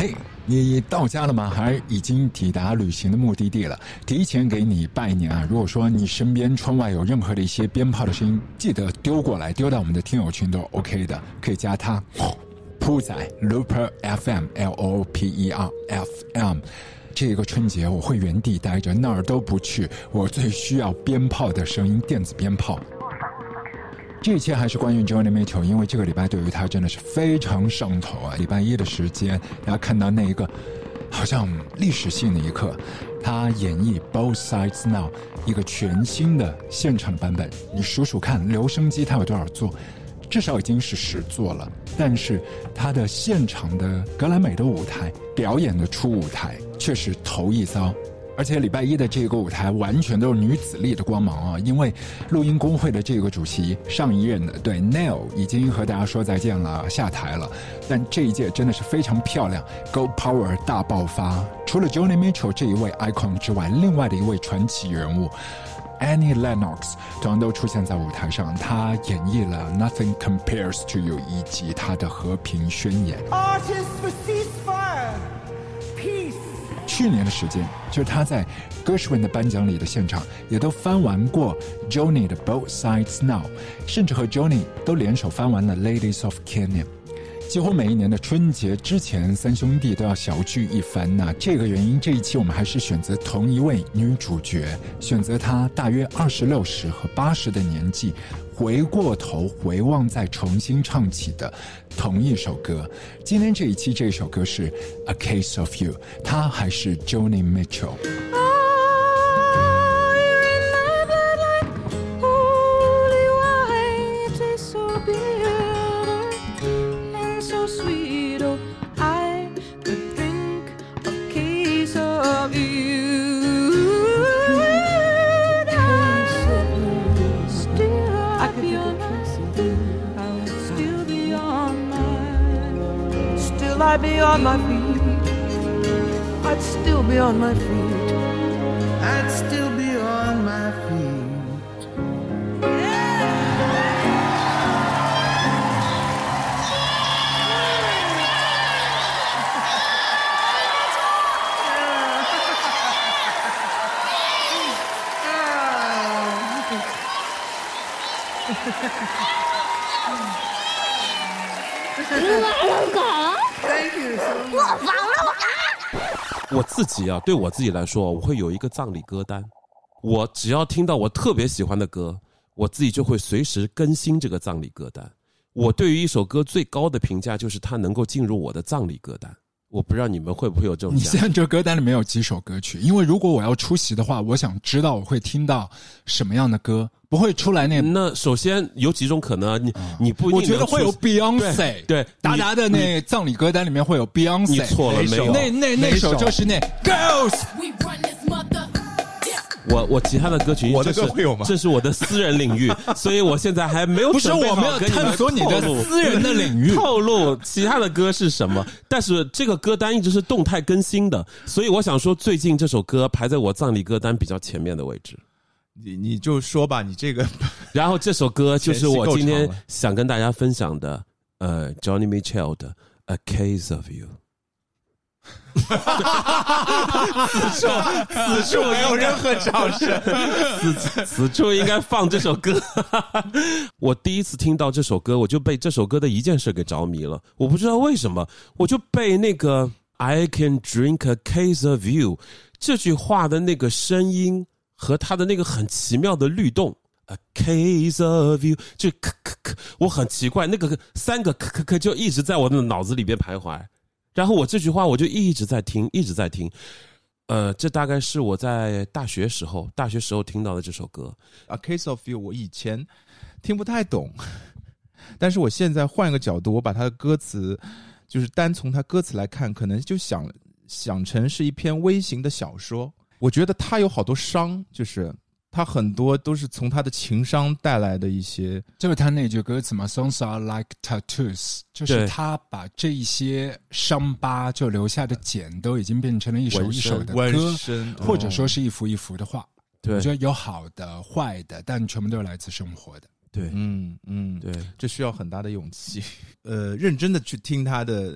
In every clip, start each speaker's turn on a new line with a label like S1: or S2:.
S1: 嘿，你到家了吗？还已经抵达旅行的目的地了？提前给你拜年啊！如果说你身边窗外有任何的一些鞭炮的声音，记得丢过来，丢到我们的听友群都 OK 的，可以加他铺仔 Looper FM LOOPER FM。这个春节我会原地待着，哪儿都不去，我最需要鞭炮的声音，电子鞭炮。这一切还是关于 Joni Mitchell， 因为这个礼拜对于他真的是非常上头啊！礼拜一的时间，大家看到那一个好像历史性的一刻，他演绎 Both Sides Now 一个全新的现场的版本。你数数看，留声机他有多少座？至少已经是10座了。但是他的现场的格莱美的舞台表演的初舞台却是头一遭。而且礼拜一的这个舞台完全都是女子力的光芒啊！因为录音工会的这个主席上一任的对 Neil 已经和大家说再见了，下台了。但这一届真的是非常漂亮 ，Go Power 大爆发！除了 Joni Mitchell 这一位 icon 之外，另外的一位传奇人物 Annie Lennox 同样都出现在舞台上，她演绎了 Nothing Compares to You 以及她的和平宣言。
S2: Artists for ceasefire, peace.
S1: 去年的时间，就是他在歌手们的颁奖礼的现场也都翻完过 Joni 的 Both Sides Now， 甚至和 Joni 都联手翻完了 Ladies of Kenya。几乎每一年的春节之前，三兄弟都要小聚一番呐。这个原因，这一期我们还是选择同一位女主角，选择她大约26和80的年纪，回过头回望再重新唱起的同一首歌。今天这一期这首歌是 A Case of You， 她还是 Joni
S2: Mitchell。I'd be on my feet, I'd still be on my feet, I'd still be on my feet. Yeah!
S3: 我自己啊，对我自己来说，我会有一个葬礼歌单。我只要听到我特别喜欢的歌，我自己就会随时更新这个葬礼歌单。我对于一首歌最高的评价就是它能够进入我的葬礼歌单。我不知道你们会不会有这种。
S1: 你现在这歌单里面有几首歌曲？因为如果我要出席的话，我想知道我会听到什么样的歌，不会出来那
S3: 首先有几种可能，你不一定。
S1: 我觉得会有 Beyonce， 对，达达的那葬礼歌单里面会有 Beyonce。
S3: 你错了，没有。
S1: 那首就是那 Girls。
S3: 我其他的歌曲，
S4: 我的歌会有吗？
S3: 这是我的私人领域，所以我现在还没有准备好。
S1: 不是我们要探索你的私人的领域，
S3: 透露其他的歌是什么。但是这个歌单一直是动态更新的，所以我想说，最近这首歌排在我葬礼歌单比较前面的位置。
S4: 你就说吧，你这个。
S3: 然后这首歌就是我今天想跟大家分享的，Joni Mitchell 的 A Case of You。
S4: 此处没有任何掌声，
S3: 此处应该放这首歌。我第一次听到这首歌，我就被这首歌的一件事给着迷了。我不知道为什么，我就被那个 I can drink a case of you 这句话的那个声音和它的那个很奇妙的律动 A case of you 就咳咳咳，我很奇怪，那个3个咳咳咳就一直在我的脑子里边徘徊。然后我这句话我就一直在听，一直在听。这大概是我在大学时候听到的这首歌。
S4: A Case of You 我以前听不太懂，但是我现在换一个角度，我把它的歌词，就是单从它歌词来看，可能就想成是一篇微型的小说。我觉得它有好多伤，就是他很多都是从他的情商带来的一些，
S1: 就是他那句歌词嘛 ，Songs are like tattoos， 就是他把这一些伤疤就留下的茧都已经变成了一首一首的歌，或者说是一幅一幅的画。
S3: 对，
S1: 我觉得有好的、坏的，但全部都是来自生活的。
S3: 对，
S4: 对，这需要很大的勇气。认真的去听他的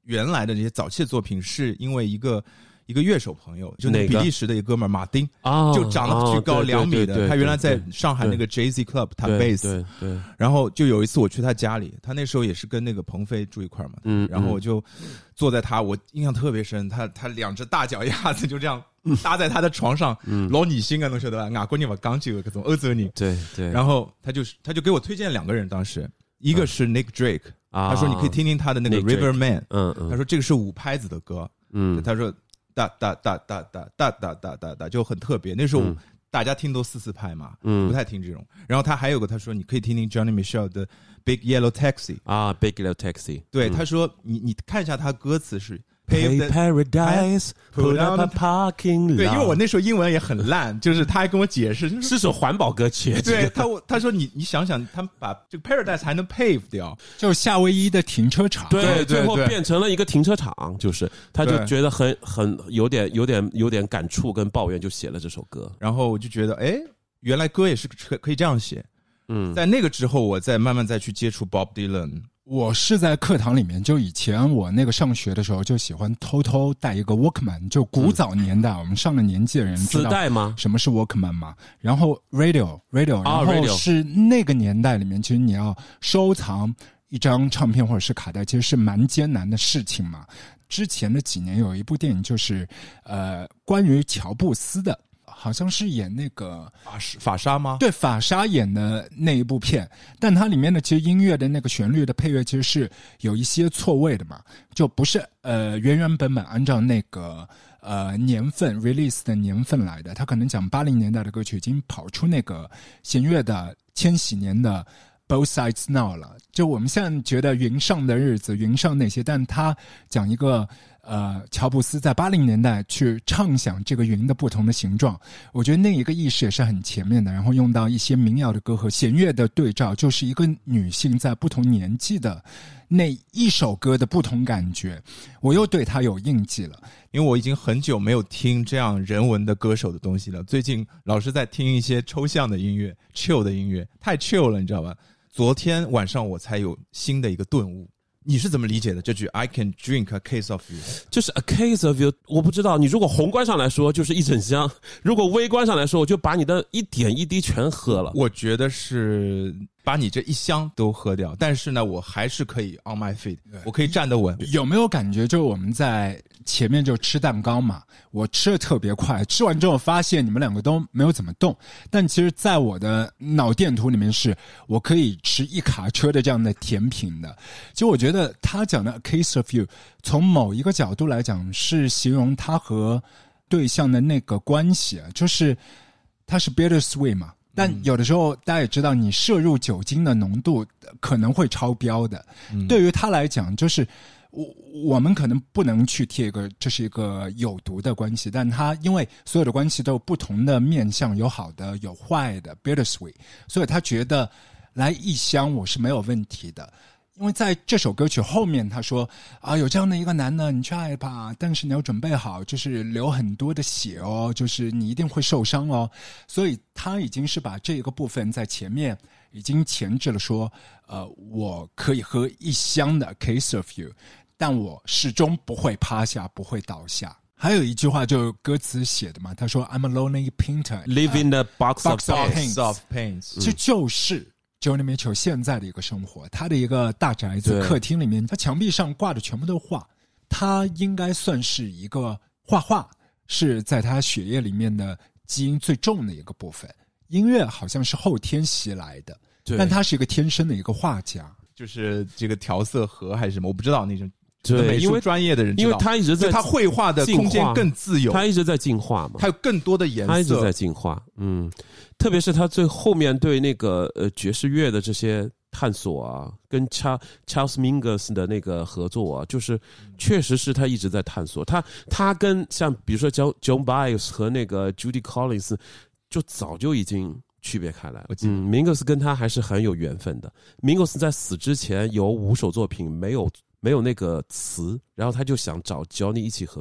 S4: 原来的这些早期的作品，是因为一个乐手朋友，就那个比利时的一个哥们儿马丁，就长得巨高2米的，他原来在上海那个 Jazzy Club 弹贝斯，
S3: 对，
S4: 然后就有一次我去他家里，他那时候也是跟那个鹏飞住一块嘛，然后我就坐在我印象特别深，他2只大脚丫子就这样搭在他的床上，老女性啊，侬晓得吧？外国人不讲究搿种欧洲人，
S3: 对，
S4: 然后他就给我推荐2个人，当时一个是 Nick Drake，他说你可以听听他的那个 Riverman，他说这个是5拍子的歌，他说哒哒哒哒哒哒哒哒哒哒就很特别，那时候大家听都4/4拍嘛，不太听这种。然后他还有个他说你可以听听 Johnny Mitchell 的 Big Yellow Taxi
S3: Big Yellow Taxi，
S4: 对，他说你看一下他歌词是
S3: Pay Paradise Put up a parking lot，
S4: 对，因为我那时候英文也很烂，就是他还跟我解释
S3: 是首环保歌曲，
S4: 对，他说你想想，他们把这个 Paradise 还能 pave 掉，
S1: 就是夏威夷的停车场，
S3: 对，最后变成了一个停车场，就是他就觉得很有点感触跟抱怨，就写了这首歌。
S4: 然后我就觉得，原来歌也是可以这样写。在那个之后，我再慢慢再去接触 Bob Dylan。
S1: 我是在课堂里面，就以前我那个上学的时候，就喜欢偷偷带一个 Walkman， 就古早年代，我们上了年纪的人知道
S3: 磁带吗？
S1: 什么是 Walkman 吗？然后 Radio， 然后是那个年代里面，其实你要收藏一张唱片或者是卡带，其实是蛮艰难的事情嘛。之前的几年有一部电影，就是关于乔布斯的。好像是演那个
S4: 法莎吗？
S1: 对，法莎演的那一部片，但它里面的其实音乐的那个旋律的配乐其实是有一些错位的嘛，就不是原本按照那个年份 release 的年份来的，他可能讲80年代的歌曲已经跑出那个弦乐的千禧年的 Both Sides Now 了。就我们现在觉得云上的日子，云上那些，但他讲一个乔布斯在80年代去畅想这个云的不同的形状，我觉得那一个意识也是很前面的，然后用到一些民谣的歌和弦乐的对照，就是一个女性在不同年纪的那一首歌的不同感觉，我又对她有印记了。
S4: 因为我已经很久没有听这样人文的歌手的东西了，最近老是在听一些抽象的音乐 chill 的音乐，太 chill 了，你知道吧？昨天晚上我才有新的一个顿悟。你是怎么理解的这句 I can drink a case of you？
S3: 就是 a case of you， 我不知道，你如果宏观上来说就是一整箱，如果微观上来说我就把你的一点一滴全喝了。
S4: 我觉得是把你这一箱都喝掉，但是呢我还是可以 on my feet， 我可以站得稳。
S1: 有没有感觉就是我们在前面就吃蛋糕嘛，我吃得特别快，吃完之后发现你们2个都没有怎么动，但其实在我的脑电图里面是我可以吃1卡车的这样的甜品的。其实我觉得他讲的 a case of you 从某一个角度来讲是形容他和对象的那个关系，就是他是 bittersweet 嘛，但有的时候大家也知道你摄入酒精的浓度可能会超标的，对于他来讲就是我们可能不能去贴一个这是一个有毒的关系，但他因为所有的关系都有不同的面向，有好的有坏的 bittersweet， 所以他觉得来一箱我是没有问题的。因为在这首歌曲后面他说有这样的一个男的你去爱吧，但是你要准备好就是流很多的血哦，就是你一定会受伤哦，所以他已经是把这个部分在前面已经前置了说我可以喝一箱的 case of you， 但我始终不会趴下，不会倒下。还有一句话就歌词写的嘛，他说 I'm a lonely painter
S3: live in a box of
S4: paints，
S3: 这
S1: 就是Joni Mitchell 现在的一个生活，他的一个大宅子客厅里面，他墙壁上挂的全部都是画，他应该算是一个画画是在他血液里面的基因最重的一个部分，音乐好像是后天袭来的，但他是一个天生的一个画家，
S4: 就是这个调色盒还是什么我不知道，那种
S3: 对
S4: 美术专业的人知道，
S3: 因为他一直在
S4: 他绘画的空间更自由，
S3: 他一直在进化嘛，
S4: 他有更多的颜色，
S3: 他一直在进化。特别是他最后面对那个爵士乐的这些探索啊，跟 Charles Mingus 的那个合作啊，就是确实是他一直在探索。他跟像比如说 Joan Baez 和那个 Judy Collins 就早就已经区别开来了。Mingus 跟他还是很有缘分的。Mingus 在死之前有5首作品没有那个词，然后他就想找 Johnny 一起合作，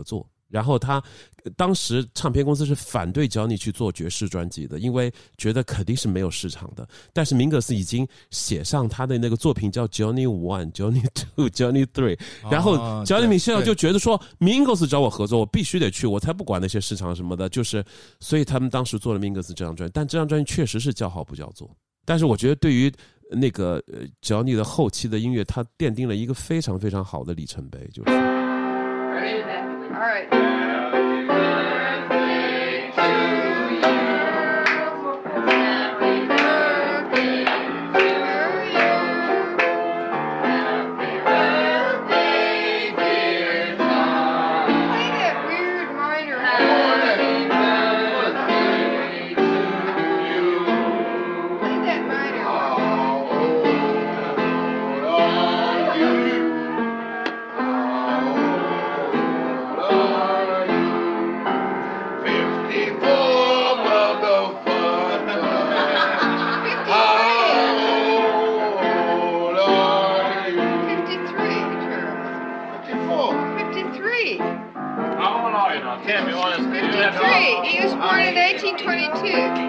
S3: 然后他当时唱片公司是反对 Johnny 去做爵士专辑的，因为觉得肯定是没有市场的。但是明格斯已经写上他的那个作品叫 Johnny 1 Johnny 2 Johnny 3，然后 Johnny Mitchell 就觉得说明格斯找我合作我必须得去，我才不管那些市场什么的，就是所以他们当时做了明格斯这张专辑。但这张专辑确实是叫好不叫座，但是我觉得对于那个Johnny 的后期的音乐，它奠定了一个非常非常好的里程碑，就是。
S5: All right. He was born in 1822.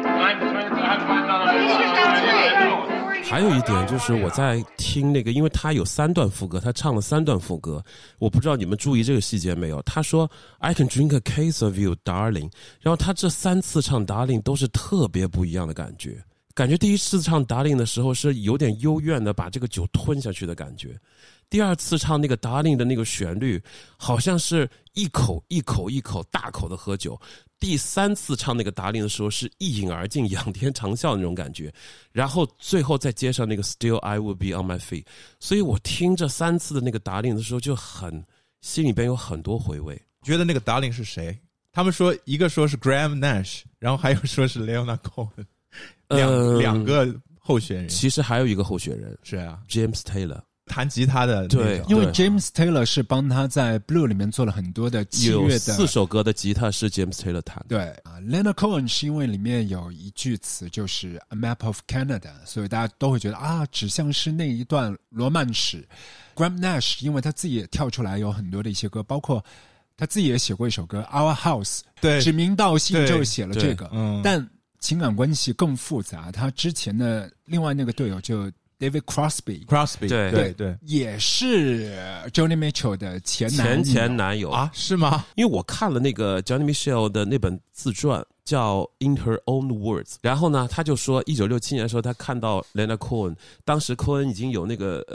S3: 还有一点就是我在听那个，因为他有3段副歌，他唱了3段副歌，我不知道你们注意这个细节没有。他说 I can drink a case of you, darling， 然后他这3次唱 darling 都是特别不一样的感觉。感觉第一次唱 darling 的时候是有点幽怨的把这个酒吞下去的感觉，第二次唱那个 darling 的那个旋律好像是一口一口一口大口的喝酒，第3次唱那个 darling 的时候是一饮而尽仰天长啸的那种感觉，然后最后再接上那个 still I will be on my feet。 所以我听这3次的那个 darling 的时候就很心里边有很多回味。
S4: 觉得那个 darling 是谁？他们说一个说是 Graham Nash， 然后还有说是 Leonard Cohen，两个候选人。
S3: 其实还有一个候选人
S4: 是啊
S3: James Taylor，
S4: 弹吉他的、那个、
S3: 对，
S1: 因为 James Taylor 是帮他在 Blue 里面做了很多的器乐的，
S3: 有4首歌的吉他是 James Taylor 弹的。
S1: 对啊 Leonard Cohen 是因为里面有一句词就是 A Map of Canada， 所以大家都会觉得啊，指向是那一段罗曼史。Graham Nash 因为他自己也跳出来有很多的一些歌，包括他自己也写过一首歌 Our House，
S4: 对，
S1: 指名道姓就写了这个，但情感关系更复杂。他之前的另外那个队友就 David Crosby，
S4: 对，
S1: 也是 Johnny Mitchell 的前男友
S4: 啊？是吗？
S3: 因为我看了那个 Johnny Mitchell 的那本自传叫 In Her Own Words， 然后呢他就说1967年的时候他看到 Leonard Cohen， 当时 Cohen 已经有那个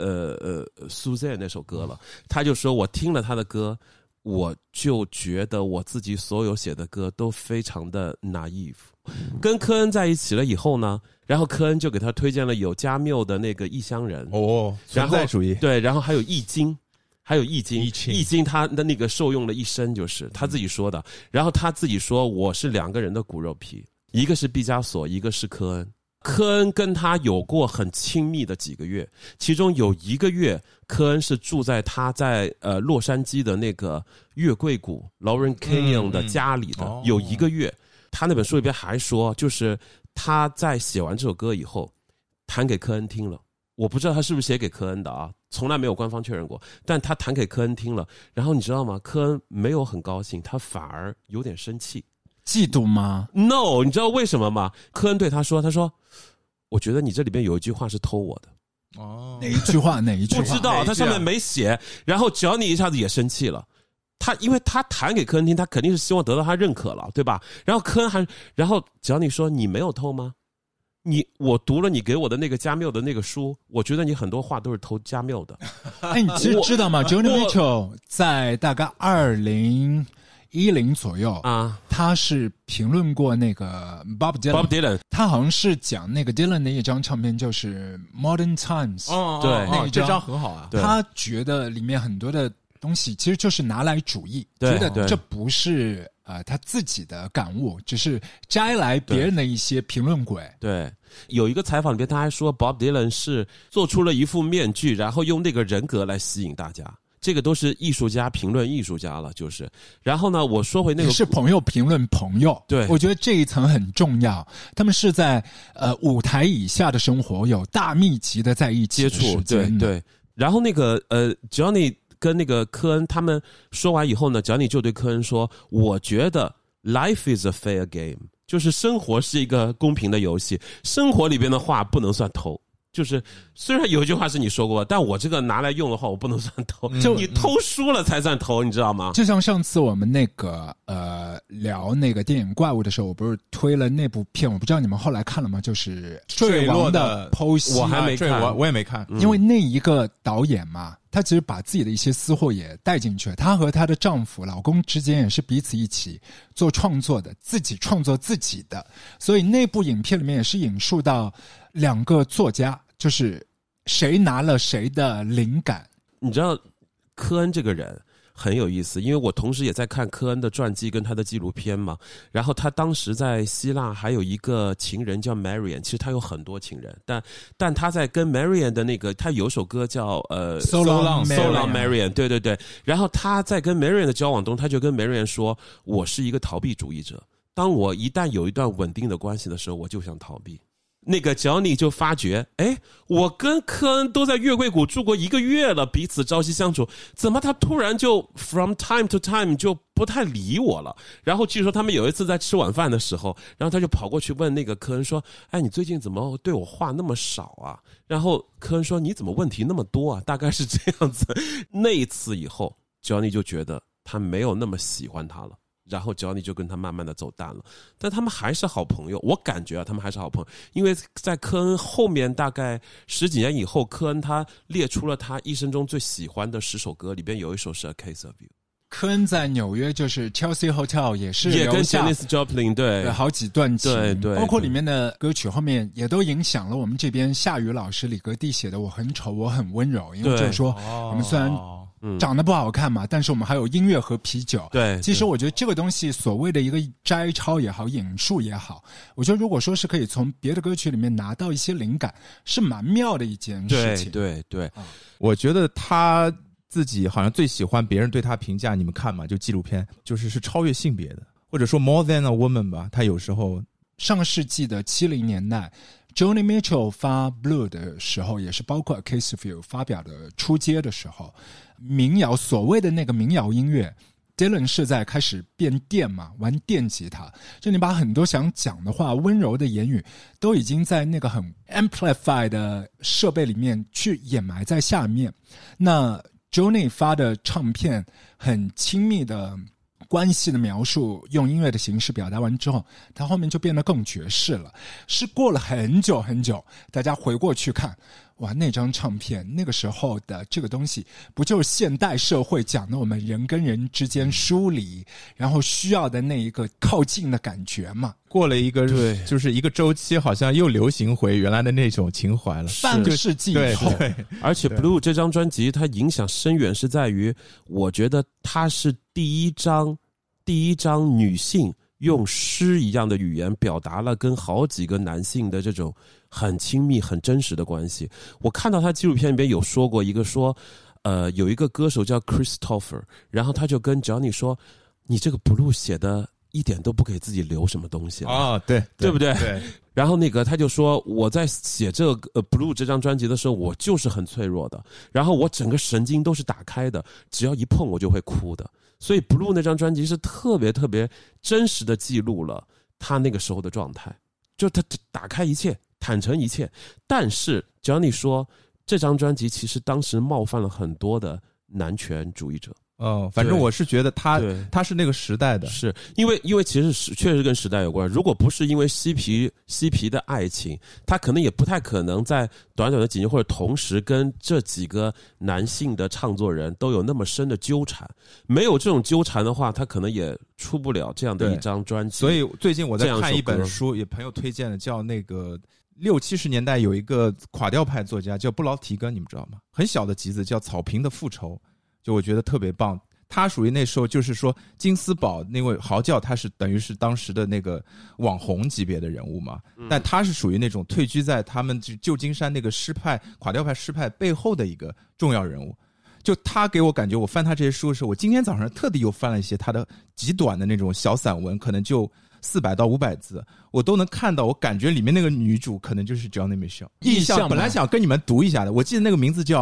S3: Suzanne 那首歌了，他就说我听了他的歌，我就觉得我自己所有写的歌都非常的 naive。 跟科恩在一起了以后呢，然后科恩就给他推荐了有加缪的那个异乡人
S4: 存在主义，
S3: 对，然后还有易经，易经他的那个受用了一生，就是他自己说的。然后他自己说我是2个人的骨肉皮，一个是毕加索，一个是科恩。科恩跟他有过很亲密的几个月，其中有1个月科恩是住在他在洛杉矶的那个月桂谷 Lauren Canyon 的家里的，有1个月。他那本书里边还说，就是他在写完这首歌以后弹给科恩听了，我不知道他是不是写给科恩的啊，从来没有官方确认过，但他弹给科恩听了，然后你知道吗？科恩没有很高兴，他反而有点生气。
S1: 嫉妒吗？
S3: No， 你知道为什么吗？科恩对他说我觉得你这里边有一句话是偷我的。
S1: 哪一句话
S3: 不知道，他上面没写。然后Johnny一下子也生气了，因为他弹给科恩听，他肯定是希望得到他认可了，对吧？然后科恩然后Johnny说你没有偷吗？我读了你给我的那个加缪的那个书，我觉得你很多话都是偷加缪的。
S1: 哎，你其实知道吗 Johnny Mitchell 在大概2010左右啊，他是评论过那个 Bob Dylan， 他好像是讲那个 Dylan 的一张唱片就是 Modern Times，
S3: 对，
S1: 那
S4: 这张很好啊。
S1: 他觉得里面很多的东西其实就是拿来主义，觉得这不是他自己的感悟，只是摘来别人的一些评论轨。
S3: 对，有一个采访里边他还说 Bob Dylan 是做出了一副面具，然后用那个人格来吸引大家。这个都是艺术家评论艺术家了，就是。然后呢，我说回那个
S1: 是朋友评论朋友，
S3: 对，
S1: 我觉得这一层很重要。他们是在舞台以下的生活有大密集的在一起
S3: 接触，对。然后那个Johnny 跟那个科恩他们说完以后呢，Johnny就对科恩说，我觉得 life is a fair game， 就是生活是一个公平的游戏，生活里边的话不能算偷。就是虽然有一句话是你说过，但我这个拿来用的话我不能算偷，就你偷输了才算偷，你知道吗？
S1: 就像上次我们那个聊那个电影怪物的时候，我不是推了那部片，我不知道你们后来看了吗？就是坠亡的剖析，
S3: 我还没看，
S4: 我也没看，
S1: 因为那一个导演嘛，他其实把自己的一些私货也带进去了。她和她的丈夫、老公之间也是彼此一起做创作的，自己创作自己的。所以那部影片里面也是引述到2个作家，就是谁拿了谁的灵感。
S3: 你知道科恩这个人很有意思，因为我同时也在看科恩的传记跟他的纪录片嘛。然后他当时在希腊还有一个情人叫 Marian， 其实他有很多情人，但他在跟 Marian 的那个，他有首歌叫
S1: So Long
S3: Marian， 对对对。然后他在跟 Marian 的交往中，他就跟 Marian 说，我是一个逃避主义者，当我一旦有一段稳定的关系的时候，我就想逃避。那个Johnny就发觉，我跟科恩都在月桂谷住过1个月了，彼此朝夕相处，怎么他突然就 from time to time 就不太理我了？然后据说他们有一次在吃晚饭的时候，然后他就跑过去问那个科恩说，你最近怎么对我话那么少啊？然后科恩说，你怎么问题那么多啊？大概是这样子。那一次以后 Johnny 就觉得他没有那么喜欢他了，然后 Johnny 就跟他慢慢的走淡了，但他们还是好朋友。我感觉他们还是好朋友，因为在科恩后面大概10几年以后，科恩他列出了他一生中最喜欢的10首歌，里边有一首是 A Case of You。
S1: 科恩在纽约就是 Chelsea Hotel 也是
S3: 也跟 Janis Joplin 对
S1: 好几段情，
S3: 对，
S1: 包括里面的歌曲后面也都影响了我们这边夏雨老师李格弟写的《我很丑我很温柔》，因为就是说我们虽然长得不好看嘛，但是我们还有音乐和啤酒。
S3: 对，
S1: 其实我觉得这个东西所谓的一个摘抄也好，引述也好，我觉得如果说是可以从别的歌曲里面拿到一些灵感，是蛮妙的一件事情。
S3: 对，
S4: 我觉得他自己好像最喜欢别人对他评价，你们看嘛，就纪录片，是超越性别的，或者说 more than a woman 吧。他有时候
S1: 上世纪的70年代，Joni Mitchell 发 Blue 的时候，也是包括 A Case of You 发表的出街的时候，民谣所谓的那个民谣音乐 ，Dylan 是在开始变电嘛，玩电吉他，就你把很多想讲的话、温柔的言语，都已经在那个很 amplify 的设备里面去掩埋在下面。那Joni 发的唱片很亲密的关系的描述，用音乐的形式表达完之后，它后面就变得更爵士了。是过了很久很久，大家回过去看，哇，那张唱片那个时候的这个东西，不就是现代社会讲的我们人跟人之间疏离，然后需要的那一个靠近的感觉嘛？
S4: 过了一个就是一个周期，好像又流行回原来的那种情怀了。
S1: 半个世纪以后，
S4: 对，
S3: 而且 Blue 这张专辑它影响深远，是在于我觉得它是第一张女性用诗一样的语言表达了跟好几个男性的这种很亲密很真实的关系。我看到他纪录片里边有说过一个说有一个歌手叫 Christopher， 然后他就跟 Johnny 说，你这个 Blue 写的一点都不给自己留什么东西对不对？
S4: 对。
S3: 然后那个他就说，我在写这个Blue 这张专辑的时候，我就是很脆弱的，然后我整个神经都是打开的，只要一碰我就会哭的。所以 Blue 那张专辑是特别特别真实的记录了他那个时候的状态，就他打开一切，坦诚一切。但是 Johnny 说，这张专辑其实当时冒犯了很多的男权主义者。
S4: 反正我是觉得他是那个时代的，
S3: 是因为其实确实跟时代有关。如果不是因为嬉皮的爱情，他可能也不太可能在短短的几年或者同时跟这几个男性的唱作人都有那么深的纠缠。没有这种纠缠的话，他可能也出不了这样的一张专辑。
S4: 所以最近我在看一本书，也朋友推荐的，叫那个60、70年代有一个垮掉派作家叫布劳提根，你们知道吗？很小的集子叫《草坪的复仇》。就我觉得特别棒，他属于那时候就是说金斯堡那位嚎叫，他是等于是当时的那个网红级别的人物嘛，但他是属于那种退居在他们旧金山那个垮掉派诗派背后的一个重要人物。就他给我感觉，我翻他这些书的时候，我今天早上特地又翻了一些他的极短的那种小散文，可能就400到500字，我都能看到，我感觉里面那个女主可能就是 Joni Mitchell。意象本来想跟你们读一下的，我记得那个名字叫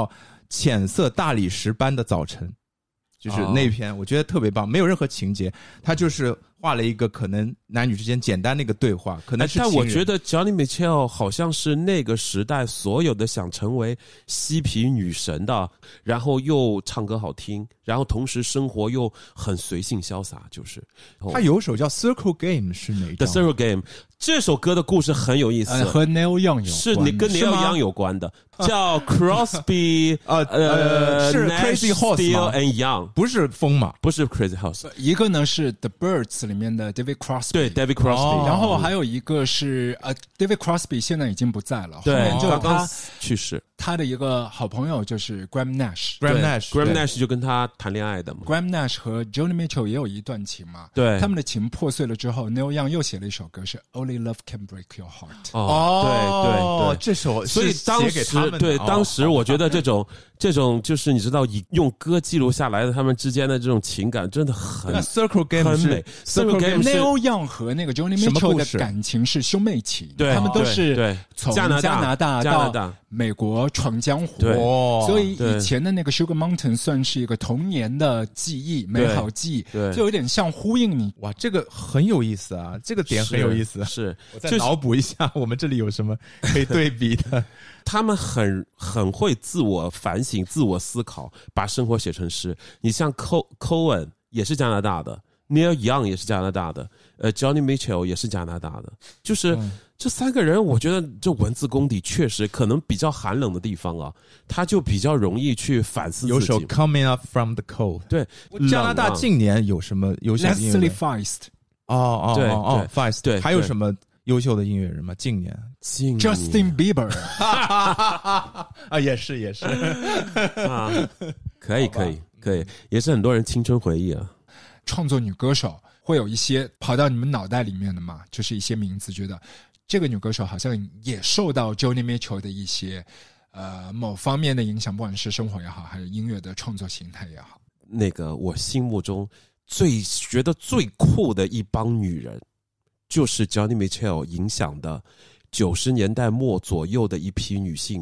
S4: 浅色大理石般的早晨，就是那篇我觉得特别棒，没有任何情节，他就是画了一个可能男女之间简单的一个对话，可能是
S3: 但我觉得 Johnny Mitchell 好像是那个时代所有的想成为嬉皮女神的，然后又唱歌好听，然后同时生活又很随性潇洒，就是
S4: 他有首叫 Circle Game 是哪一张
S3: The Circle Game 这首歌的故事很有意思，
S1: 和 Neil Young 有关，
S3: 是你跟 Neil Young 有关的，叫 Crosby
S4: 是 Crazy Horse 吗
S3: and Young，
S4: 不是风嘛？
S3: 不是 Crazy Horse，
S1: 一个呢是 The Birds 里面的 David Crosby，
S3: 对 David Crosby，
S1: 然后还有一个是David Crosby 现在已经不在了，
S3: 对，
S1: 后面就
S3: 刚刚去世，
S1: 他的一个好朋友就是 Graham
S4: Graham Nash
S3: 就跟他谈恋爱的嘛。
S1: Graham Nash 和 Joni Mitchell 也有一段情嘛，
S3: 对，
S1: 他们的情破碎了之后 Neil Young 又写了一首歌是 Only Love Can Break Your Heart。
S3: 对，
S4: 这首
S3: 所以当时对当时我觉得这种就是你知道以用歌记录下来的他们之间的这种情感真的很
S4: Circle Game
S3: 很美。
S1: Circle
S3: Game
S1: Neil Young 和那个 Joni Mitchell 的感情是兄妹情，他们都是从加拿大到美国闯江湖，所以以前的那个 Sugar Mountain 算是一个童年的记忆，美好记忆，就有点像呼应你。
S4: 哇，这个很有意思啊，这个点很有意思。
S3: 是，
S4: 我再脑补一下，我们这里有什么可以对比的？
S3: 他们很会自我反省、自我思考，把生活写成诗。你像 Cohen 也是加拿大的。Neil Young 也是加拿大的，Johnny Mitchell 也是加拿大的，就是这三个人，我觉得这文字功底确实可能比较寒冷的地方啊，他就比较容易去反思自己。
S4: 有首 Coming Up From the Cold，
S3: 对，
S4: 加拿大近年有什么优秀的音乐人
S1: Leslie Feist，
S3: 对
S4: Feist，
S3: 对，
S4: 还有什么优秀的音乐人吗？近年
S1: Justin Bieber
S4: 啊，也是
S3: 啊，可以，也是很多人青春回忆啊。
S1: 创作女歌手会有一些跑到你们脑袋里面的嘛，就是一些名字，觉得这个女歌手好像也受到 Joni Mitchell 的一些某方面的影响，不管是生活也好，还是音乐的创作形态也好。
S3: 那个我心目中觉得最酷的一帮女人，就是 Johnny Mitchell 影响的90年代末左右的一批女性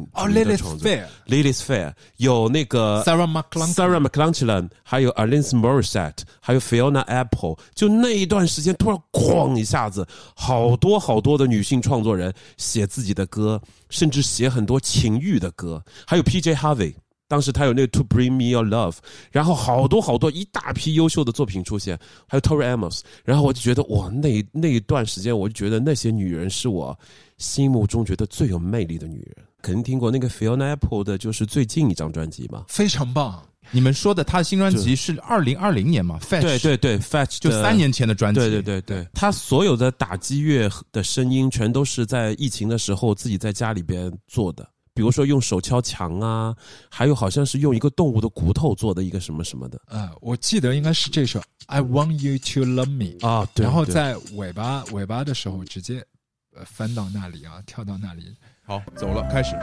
S3: Lilith Fair 有那个
S1: Sarah
S3: McLachlan 还有 Alanis Morissette 还有 Fiona Apple， 就那一段时间突然哐一下子好多的女性创作人写自己的歌，甚至写很多情欲的歌，还有 PJ Harvey，当时他有那个 To Bring Me Your Love， 然后好多一大批优秀的作品出现，还有 Tori Amos， 然后我就觉得哇，那一段时间我就觉得那些女人是我心目中觉得最有魅力的女人。肯定听过那个 Fiona Apple 的就是最近一张专辑嘛，
S1: 非常棒。
S4: 你们说的他的新专辑是2020年嘛 Fetch，
S3: 对 Fetch
S4: 就3年前的专辑。
S3: 对，他所有的打击乐的声音全都是在疫情的时候自己在家里边做的，比如说用手敲墙啊，还有好像是用一个动物的骨头做的一个什么什么的。
S1: 我记得应该是这首 I Want You to Love Me
S3: 啊，对，
S1: 然后在尾巴的时候直接翻到那里啊，跳到那里。
S4: 好，走了，开始。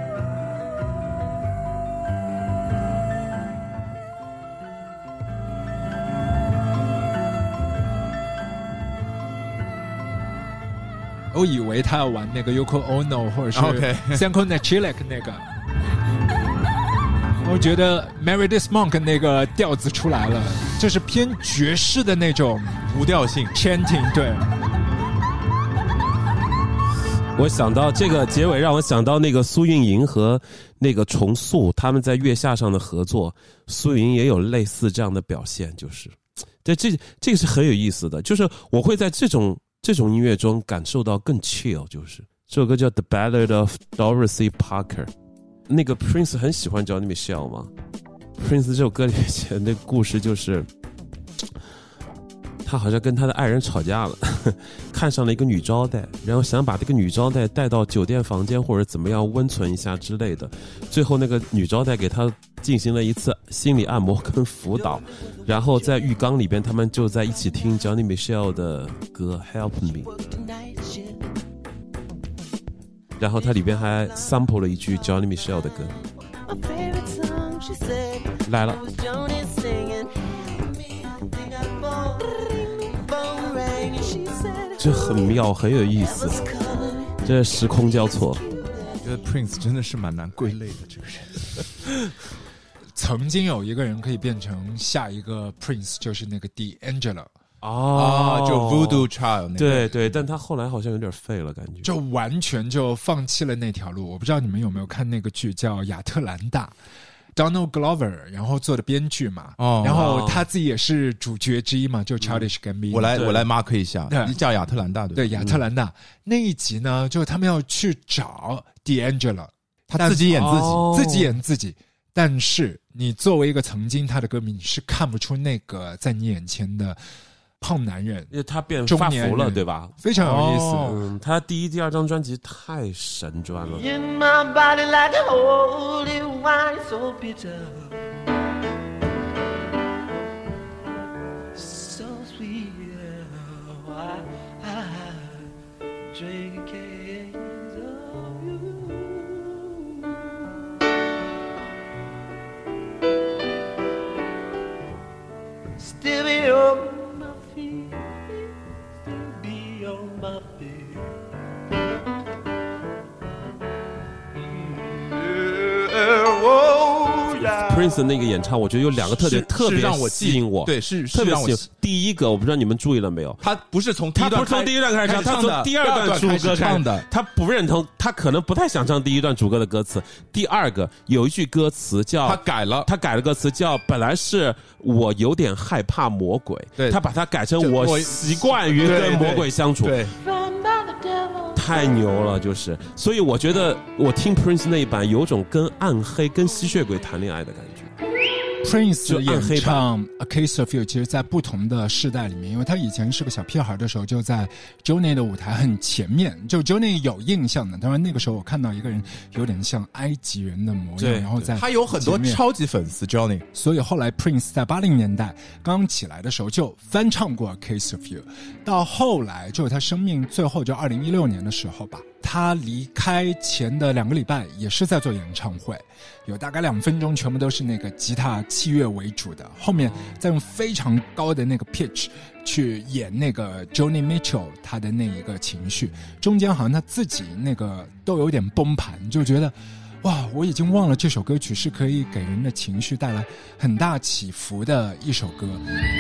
S1: 我以为他要玩那个 Yoko Ono 或者是 Sanko Nachilek 那个，我觉得 Meredith Monk 那个调子出来了，就是偏爵士的那种
S4: 无调性
S1: chanting。 对，
S3: 我想到这个结尾让我想到那个苏运莹和那个重塑他们在月下上的合作，苏运莹也有类似这样的表现，就是对，这个是很有意思的，就是我会在这种音乐中感受到更 chill。 就是这首歌叫 The Ballad of Dorothy Parker， 那个 Prince 很喜欢 Johnny Mitchell 嘛， Prince 这首歌里面写的那个故事就是他好像跟他的爱人吵架了，看上了一个女招待，然后想把这个女招待带到酒店房间或者怎么样温存一下之类的，最后那个女招待给他进行了一次心理按摩跟辅导，然后在浴缸里边他们就在一起听 Johnny Mitchell 的歌 Help Me， 然后他里边还 sample 了一句 Johnny Mitchell 的歌来了，这很妙，很有意思，这时空交错。
S4: 我觉得 Prince 真的是蛮难归类的这个人。
S1: 曾经有一个人可以变成下一个 Prince， 就是那个 D'Angelo。
S4: 就 Voodoo Child 那个。
S3: 对对，但他后来好像有点废了，感觉
S1: 就完全就放弃了那条路。我不知道你们有没有看那个剧叫《亚特兰大》，Donald Glover 然后做的编剧嘛，然后他自己也是主角之一嘛，就 Childish Gambino。
S4: 我来 mark 一下，你叫亚特兰大
S1: 对亚特兰大那一集呢，就他们要去找 D'Angelo，
S4: 他自己演自己，
S1: 自己演自己。但是你作为一个曾经他的歌迷，你是看不出那个在你眼前的胖男人，
S3: 因为他变发福了，对吧？
S1: 非常有意思。
S3: 他第一、第二张专辑太神专了。
S2: In my body like holy wine, so bitter, so sweet. I drink a case of you. Still be on my feet, still be on my feet.
S3: Prince 的那个演唱，我觉得有两个特点特别吸引我，
S4: 对，是
S3: 特别
S4: 让我
S3: 吸引。第一个，我不知道你们注意了没有，
S4: 他不是从第一段
S3: 开始唱，他从第二段主歌
S4: 唱的，
S3: 他不认同，他可能不太想唱第一段主歌的歌词。第二个有一句歌词叫
S4: 他改了
S3: 歌词叫本来是我有点害怕魔鬼，他把它改成我习惯于跟魔鬼相处。
S4: 对。
S3: 太牛了，就是，所以我觉得我听 Prince 那一版有种跟暗黑、跟吸血鬼谈恋愛的感覺。
S1: Prince 演唱 A Case of You， 其实在不同的世代里面，因为他以前是个小屁孩的时候，就在 Johnny 的舞台很前面，就 Johnny 有印象的。当然那个时候我看到一个人有点像埃及人的模样，然后在
S4: 他有很多超级粉丝 Johnny，
S1: 所以后来 Prince 在80年代刚起来的时候就翻唱过 A Case of You， 到后来就是他生命最后就2016年的时候吧。他离开前的2个礼拜也是在做演唱会，有大概2分钟全部都是那个吉他器乐为主的，后面再用非常高的那个 pitch 去演那个 Joni Mitchell 他的那一个情绪，中间好像他自己那个都有点崩盘，就觉得哇，我已经忘了这首歌曲是可以给人的情绪带来很大起伏的一首歌。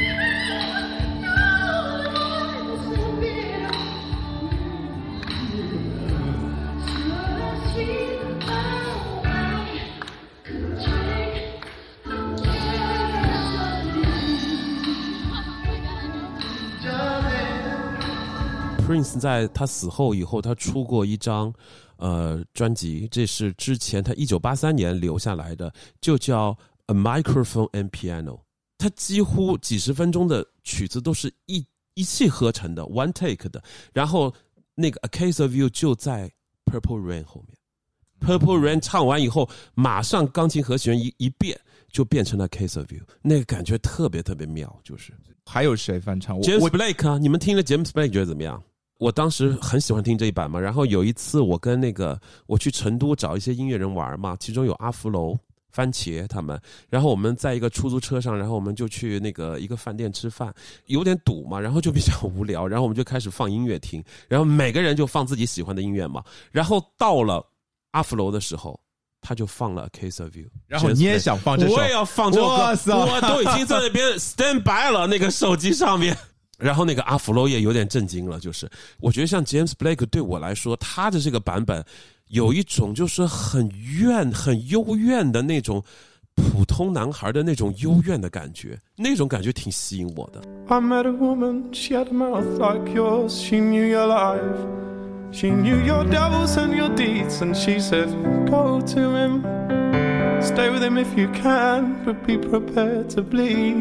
S3: Prince 在他死后以后，他出过一张专辑，这是之前他1983年留下来的，就叫 A Microphone and Piano。他几乎几十分钟的曲子都是一气呵成的 one take 的，然后那个 A Case of You 就在 Purple Rain 后面。Purple Rain 唱完以后，马上钢琴和弦一变，就变成了 Case of You， 那个感觉特别特别妙。就是
S4: 还有谁翻唱
S3: ？James Blake 啊，你们听了 James Blake 觉得怎么样？我当时很喜欢听这一版嘛，然后有一次我跟我去成都找一些音乐人玩嘛，其中有阿福楼、番茄他们，然后我们在一个出租车上，然后我们就去一个饭店吃饭，有点堵嘛，然后就比较无聊，然后我们就开始放音乐听，然后每个人就放自己喜欢的音乐嘛，然后到了阿福楼的时候，他就放了 A Case of You，
S4: 然后你也想放这首，
S3: 我也要放这首歌，我都已经在那边 stand by 了，那个手机上面。然后那个阿弗洛也有点震惊了，就是我觉得像 James Blake 对我来说，他的这个版本有一种就是很幽怨的那种普通男孩的那种幽怨的感觉，那种感觉挺吸引我的。
S6: I met a woman, she had a mouth like yours, she knew your life, she knew your devils and your deeds, and she said, go to him, stay with him if you can, but be prepared to bleed.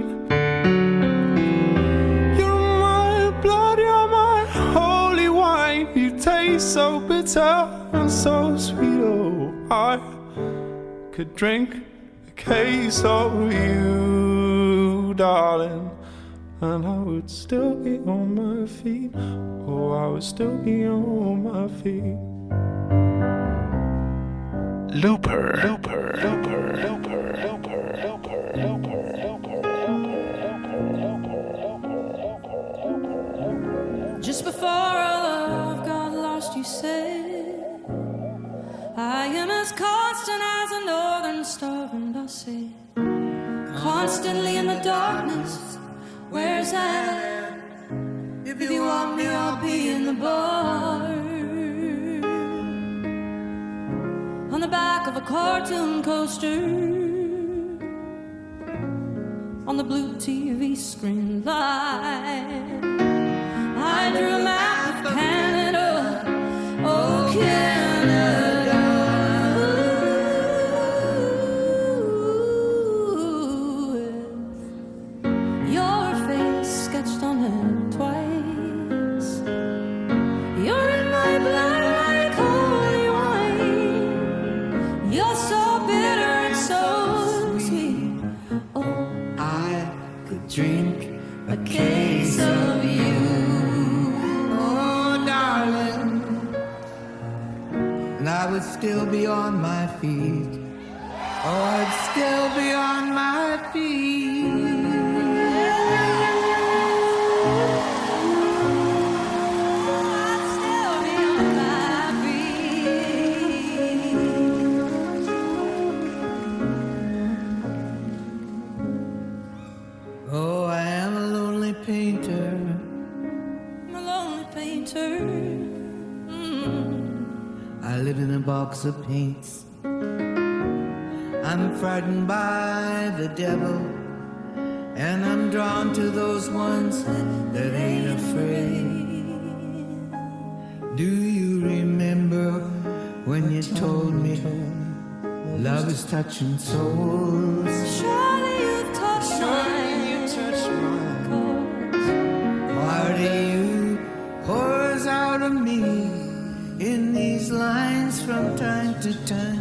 S6: You taste so bitter and so sweet. Oh, I could drink a case of you, darling, and I would still be on my feet. Oh, I would still be on my feet.
S2: Looper, Looper, Looper, Looper, Looper, Looper, Looper.
S7: Just before our love got lost, you said, I am as constant as a northern star, and I said, constantly in the darkness. Where's that? If you want me, I'll be in the bar. On the back of a cartoon coaster, on the blue TV screen light, I drew a map of Canada, oh Canada. With your face sketched on it twice. You're in my blood like holy wine. You're so bitter and so sweet. Oh,
S2: I could drink a case of you, oh darling, and I would still be on my feet. Oh, I'd still be on my feet.
S7: I'd still be on my feet.
S2: Oh, I am a lonely painter.
S7: I'm a lonely painter.
S2: I live in a box of paints. I'm frightened by the devil, and I'm drawn to those ones that ain't afraid. Do you remember when you told me love is touching souls?
S7: Surely you've touched my cause.
S2: Part of you pours out of me in these lines from time to time.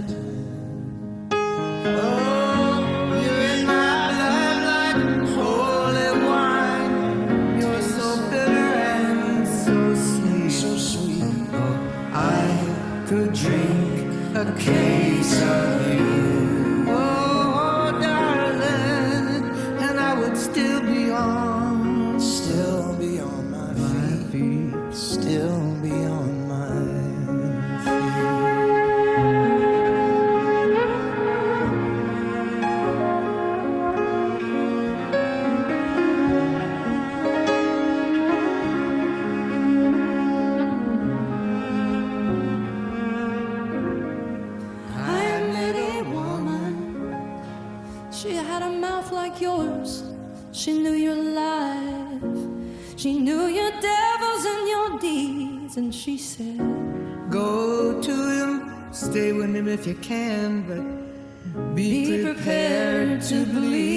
S2: Oh, you're in my blood like holy wine. You're so bitter and so sweet. So sweet. Oh, I could drink a case of you. Oh, darling, and I would still be on my feet. Still be on my
S7: She had a mouth like yours. She knew your life. She knew your devils and your deeds. And she said,
S2: go to him, stay with him if you can, but be prepared to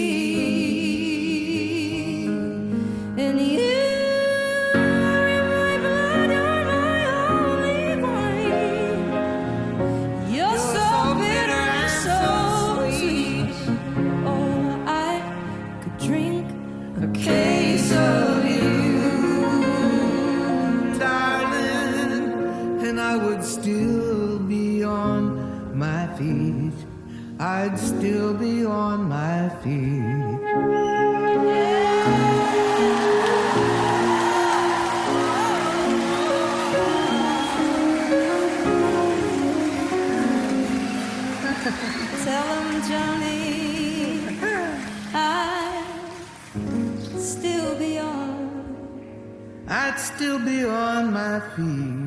S2: bleed.
S7: and you are in my blood, you're my only wine. You're so bitter and so sweet. Oh, I could drink
S2: a case of you, darling, and I would still be on my feet. I'd still be on my feet.
S7: Tell him, Johnny,
S2: I'd still be on my feet.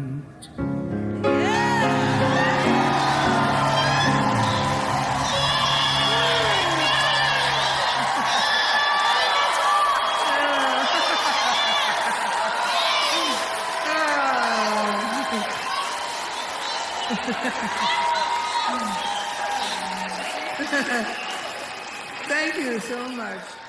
S2: Thank you so much.